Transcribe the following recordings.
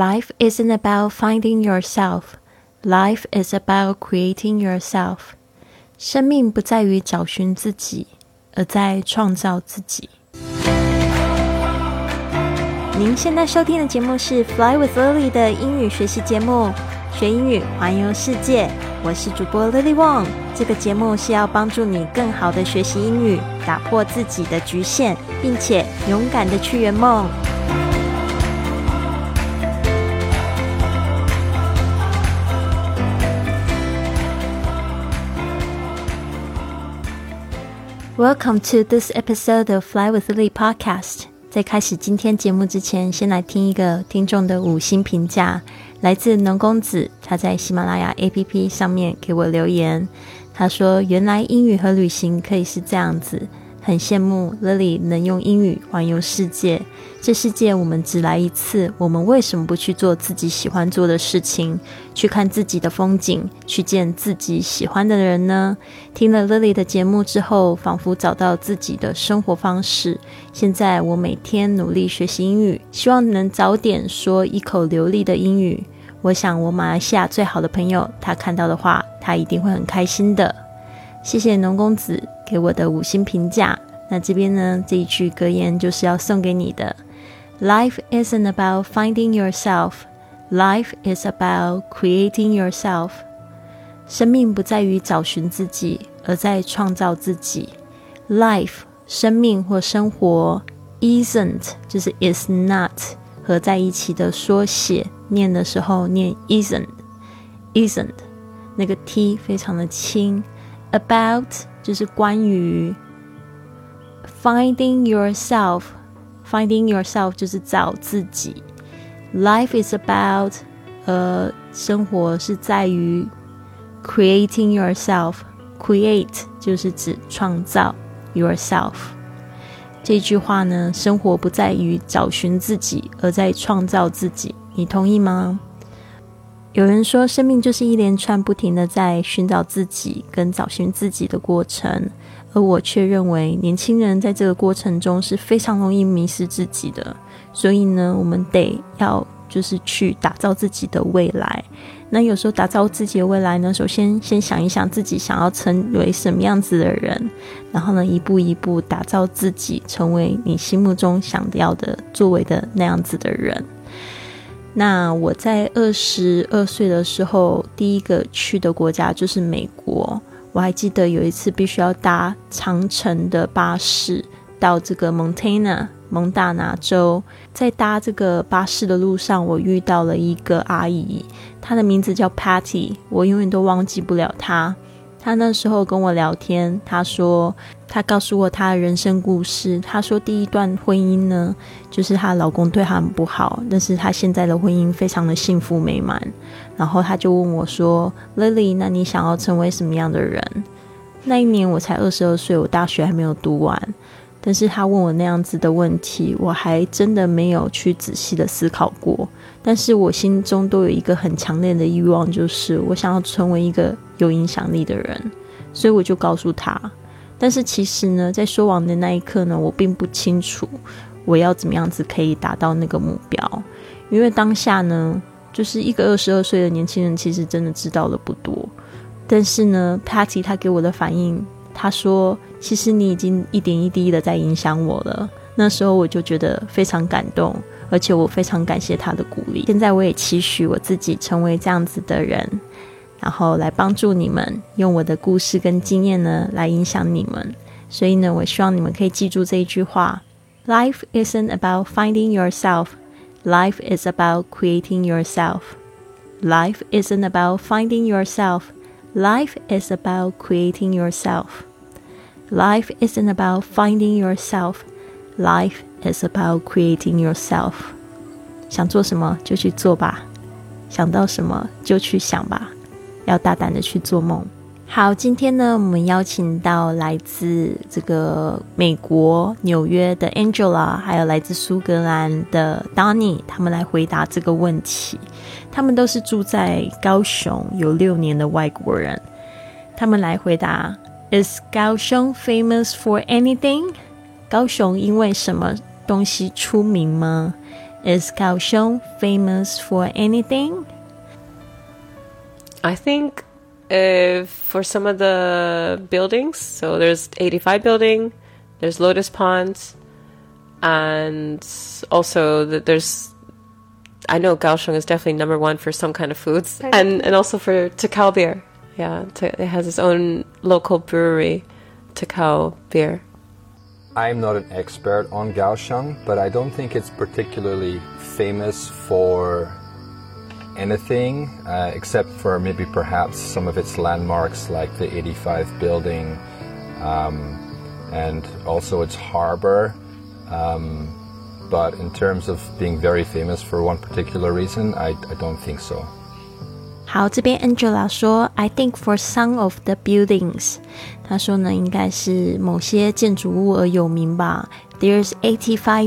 Life isn't about finding yourself. Life is about creating yourself. 生命不在于找寻自己，而在创造自己。您现在收听的节目是 Fly with Lily 的英语学习节目，学英语环游世界。我是主播 Lily Wong。这个节目是要帮助你更好的学习英语，打破自己的局限，并且勇敢的去圆梦。Welcome to this episode of Fly with Lily podcast. 在开始今天节目之前，先来听一个听众的5星评价，来自农公子，他在喜马拉雅 APP 上面给我留言。他说，原来英语和旅行可以是这样子，很羡慕 Lily 能用英语环游世界。这世界我们只来一次，我们为什么不去做自己喜欢做的事情，去看自己的风景，去见自己喜欢的人呢？听了 Lily 的节目之后，仿佛找到自己的生活方式。现在我每天努力学习英语，希望能早点说一口流利的英语。我想我马来西亚最好的朋友，他看到的话，他一定会很开心的。谢谢农公子给我的5星评价。那这边呢，这一句格言就是要送给你的。Life isn't about finding yourself. Life is about creating yourself. 生命不在于找寻自己，而在创造自己。Life 生命或生活 isn't 就是 is not 合在一起的缩写，念的时候念 isn't 那个 t 非常的轻。About 就是关于。Finding yourself 就是找自己。Life is about 生活是在于 creating yourself. Create 就是指创造 yourself。这句话呢，生活不在于找寻自己，而在创造自己。你同意吗？有人说，生命就是一连串不停的在寻找自己跟找寻自己的过程，而我却认为年轻人在这个过程中是非常容易迷失自己的。所以呢，我们得要就是去打造自己的未来。那有时候打造自己的未来呢，首先先想一想自己想要成为什么样子的人，然后呢，一步一步打造自己，成为你心目中想要的作为的那样子的人。那我在22岁的时候，第一个去的国家就是美国。我还记得有一次必须要搭长程的巴士到这个蒙大拿州。在搭这个巴士的路上，我遇到了一个阿姨，她的名字叫 Patty， 我永远都忘记不了她。她那时候跟我聊天，她告诉我她的人生故事。她说第一段婚姻呢，就是她老公对她很不好，但是她现在的婚姻非常的幸福美满。然后她就问我说 Lily， 那你想要成为什么样的人？那一年我才22岁，我大学还没有读完。但是她问我那样子的问题，我还真的没有去仔细的思考过。但是我心中都有一个很强烈的欲望，就是我想要成为一个有影响力的人，所以我就告诉他。但是其实呢，在说完的那一刻呢，我并不清楚我要怎么样子可以达到那个目标。因为当下呢，就是一个22岁的年轻人，其实真的知道的不多。但是呢 Patty 他给我的反应，他说其实你已经一点一滴的在影响我了。那时候我就觉得非常感动，而且我非常感谢他的鼓励。现在我也期许我自己成为这样子的人，然后来帮助你们，用我的故事跟经验呢来影响你们。所以呢，我希望你们可以记住这一句话， Life isn't about finding yourself. Life is about creating yourself. Life isn't about finding yourself. Life is about creating yourself. Life isn't about finding yourself.Life is about creating yourself. 想做什么就去做吧，想到什么就去想吧，要大胆的去做梦。好，今天呢，我们邀请到来自这个美国纽约的 Angela， 还有来自苏格兰的 Donnie， 他们来回答这个问题。他们都是住在高雄有6年的外国人。他们来回答 Is 高雄 famous for anything？ 高雄因为什么东西出名吗？ Is Kaohsiung famous for anything? I think for some of the buildings, so there's 85 building, there's Lotus Ponds, and also I know Kaohsiung is definitely number one for some kind of foods, and also for Takao beer. Yeah, it has its own local brewery, Takao beer. I'm not an expert on Kaohsiung, but I don't think it's particularly famous for anything, except for maybe perhaps some of its landmarks like the 85 building, and also its harbor. But in terms of being very famous for one particular reason, I don't think so. 好，这边 Angela 说 I think for some of the buildings 她说呢应该是某些建筑物而有名吧。 There's 85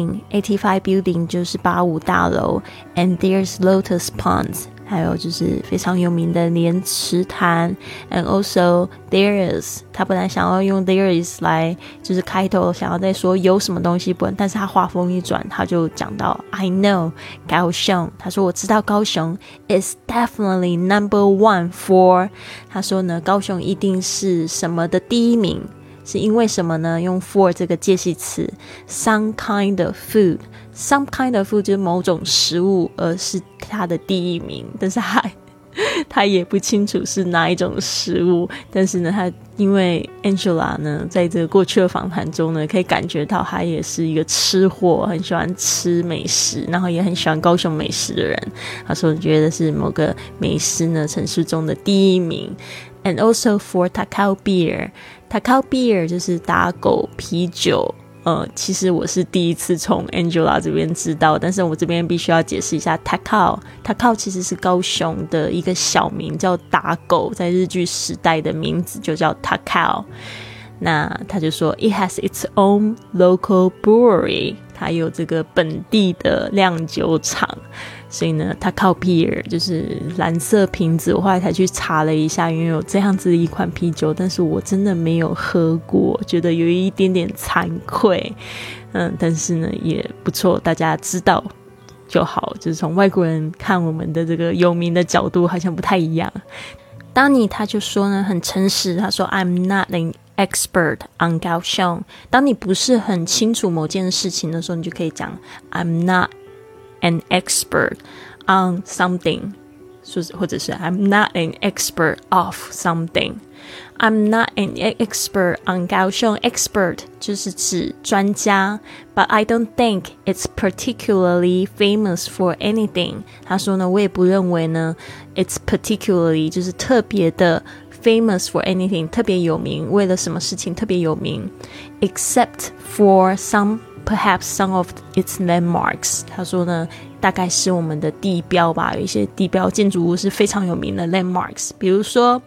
building 就是85大楼 and there's Lotus Ponds 还有就是非常有名的莲池潭 and also there is 他本来想要用 there is 来就是开头想要再说有什么东西不，但是他话锋一转他就讲到 I know 高雄，他说我知道高雄 is definitely number one for 他说呢高雄一定是什么的第一名，是因为什么呢？用 for 这个介系词 some kind of food some kind of food 就是某种食物，而是它的第一名，但是他也不清楚是哪一种食物，但是呢他因为 Angela 呢在这个过去的访谈中呢可以感觉到他也是一个吃货，很喜欢吃美食，然后也很喜欢高雄美食的人，他说觉得是某个美食呢城市中的第一名。 and also for Takao beer Takao beer 就是打狗啤酒，其实我是第一次从 Angela 这边知道，但是我这边必须要解释一下 Takao 其实是高雄的一个小名叫打狗，在日据时代的名字就叫 Takao。 那他就说 It has its own local brewery 它有这个本地的酿酒厂，所以呢 Takao beer 就是蓝色瓶子，我后来才去查了一下，因为有这样子的一款啤酒，但是我真的没有喝过，觉得有一点点惭愧，但是呢也不错，大家知道就好，就是从外国人看我们的这个有名的角度好像不太一样。当你他就说呢很诚实，他说 I'm not an expert on 高雄，当你不是很清楚某件事情的时候，你就可以讲 I'm not an expert on something， 或者是 I'm not an expert of something。 I'm not an expert on 高雄， expert 就是指专家， but I don't think it's particularly famous for anything。 他说呢我也不认为呢 it's particularly 就是特别的famous for anything 特别有名，为了什么事情特别有名 except for perhaps some of its landmarks。 他说呢大概是我们的地标吧，有一些地标建筑物是非常有名的 landmarks， 比如说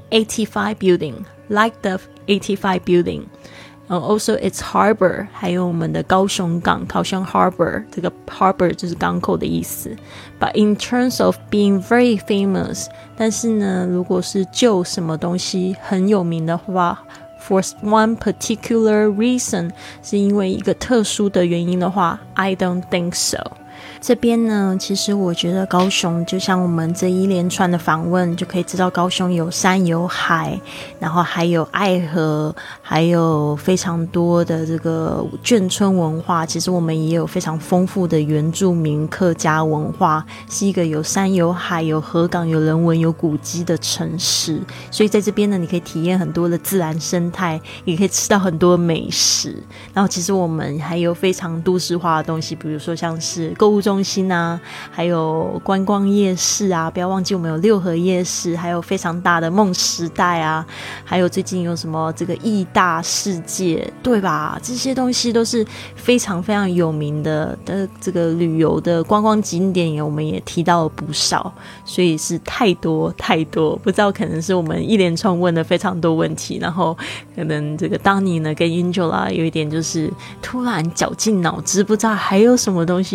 85 building like the 85 building， also its harbor 还有我们的高雄港高雄 harbor， 这个 harbor 就是港口的意思。 But in terms of being very famous， 但是呢如果是就什么东西很有名的话For one particular reason 是因为一个特殊的原因的话 I don't think so。 这边呢其实我觉得高雄就像我们这一连串的访问就可以知道高雄有山有海，然后还有爱河，还有非常多的这个眷村文化，其实我们也有非常丰富的原住民客家文化，是一个有山有海有河港有人文有古迹的城市，所以在这边呢你可以体验很多的自然生态，也可以吃到很多美食，然后其实我们还有非常都市化的东西，比如说像是购物中心啊，还有观光夜市啊，不要忘记我们有六合夜市，还有非常大的梦时代啊，还有最近有什么这个义大世界，对吧？这些东西都是非常非常有名的这个旅游的观光景点，我们也提到了不少，所以是太多太多，不知道可能是我们一连串问了非常多问题，然后可能这个当你呢跟 Angela 有一点就是突然绞尽脑汁，不知道还有什么东西有名的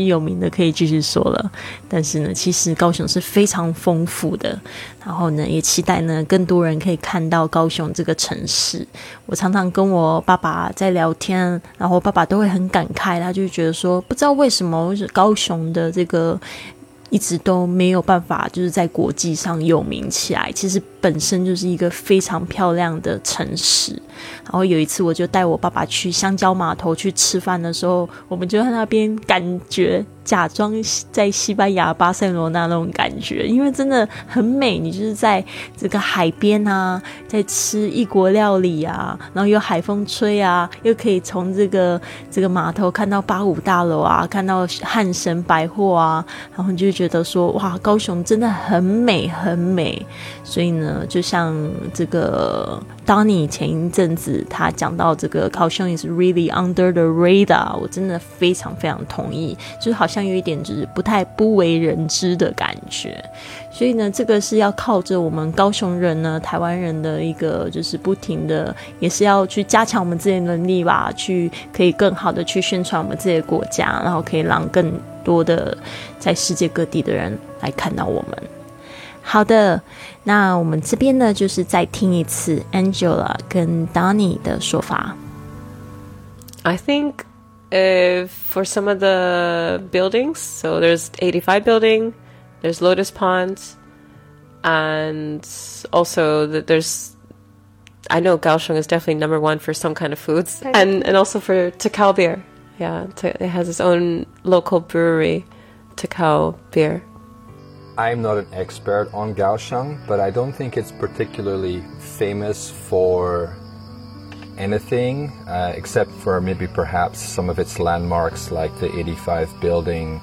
的可以继续说了。但是呢，其实高雄是非常丰富的，然后呢，也期待呢更多人可以看到高雄这个城市。我常常跟我爸爸在聊天，然后我爸爸都会很感慨，他就觉得说，不知道为什么高雄的这个一直都没有办法就是在国际上有名起来，其实本身就是一个非常漂亮的城市。然后有一次我就带我爸爸去香蕉码头去吃饭的时候，我们就在那边感觉假装在西班牙巴塞罗那那种感觉，因为真的很美，你就是在这个海边啊，在吃异国料理啊，然后有海风吹啊，又可以从这个码头看到85大楼啊，看到汉神百货啊，然后你就觉得说哇，高雄真的很美很美。所以呢，就像这个 Donnie 前一阵子他讲到这个高雄 is really under the radar， 我真的非常非常同意，就是好像有一点就是不为人知的感觉。所以呢，这个是要靠着我们高雄人呢，台湾人的一个就是不停的，也是要去加强我们自己的能力吧，去可以更好的去宣传我们自己的国家，然后可以让更多的在世界各地的人来看到我们。好的，那我们这边呢，就是再听一次 Angela 跟 Donnie 的说法。 I think for some of the buildings, so there's 85 building, there's Lotus Ponds, and also there's, I know Kaohsiung is definitely number one for some kind of foods, and also for Takao beer. Yeah, it has its own local brewery, Takao beer. I'm not an expert on Kaohsiung, but I don't think it's particularly famous for anything except for maybe perhaps some of its landmarks like the 85 building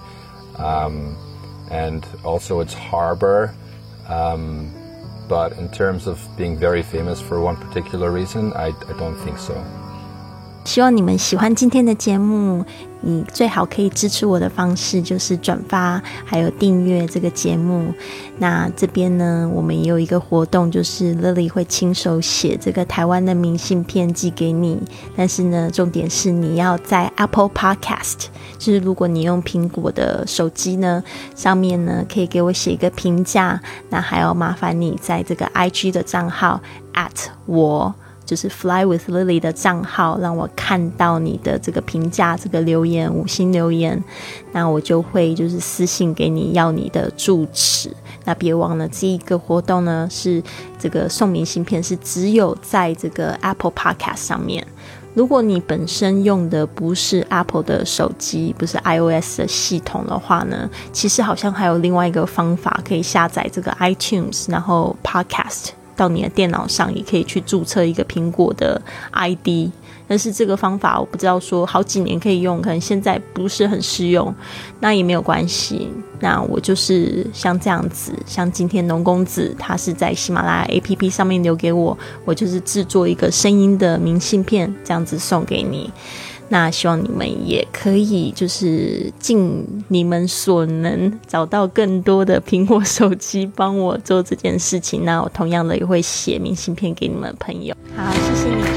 and also its harbor. But in terms of being very famous for one particular reason, I don't think so. 希望你们喜欢今天的节目，你最好可以支持我的方式就是转发还有订阅这个节目。那这边呢，我们也有一个活动，就是 Lily 会亲手写这个台湾的明信片寄给你，但是呢，重点是你要在 Apple Podcast， 就是如果你用苹果的手机呢，上面呢可以给我写一个评价，那还要麻烦你在这个 IG 的账号 @就是 Fly with Lily 的账号，让我看到你的这个评价，这个留言5星留言，那我就会就是私信给你要你的住址。那别忘了这一个活动呢，是这个送明信片是只有在这个 Apple Podcast 上面。如果你本身用的不是 Apple 的手机，不是 iOS 的系统的话呢，其实好像还有另外一个方法可以下载这个 iTunes， 然后 Podcast到你的电脑上，也可以去注册一个苹果的 ID， 但是这个方法我不知道说好几年可以用，可能现在不是很适用，那也没有关系。那我就是像这样子，像今天农公子他是在喜马拉雅 APP 上面留给我，我就是制作一个声音的明信片，这样子送给你。那希望你们也可以就是尽你们所能找到更多的苹果手机帮我做这件事情，那我同样的也会写明信片给你们的朋友。好，谢谢你。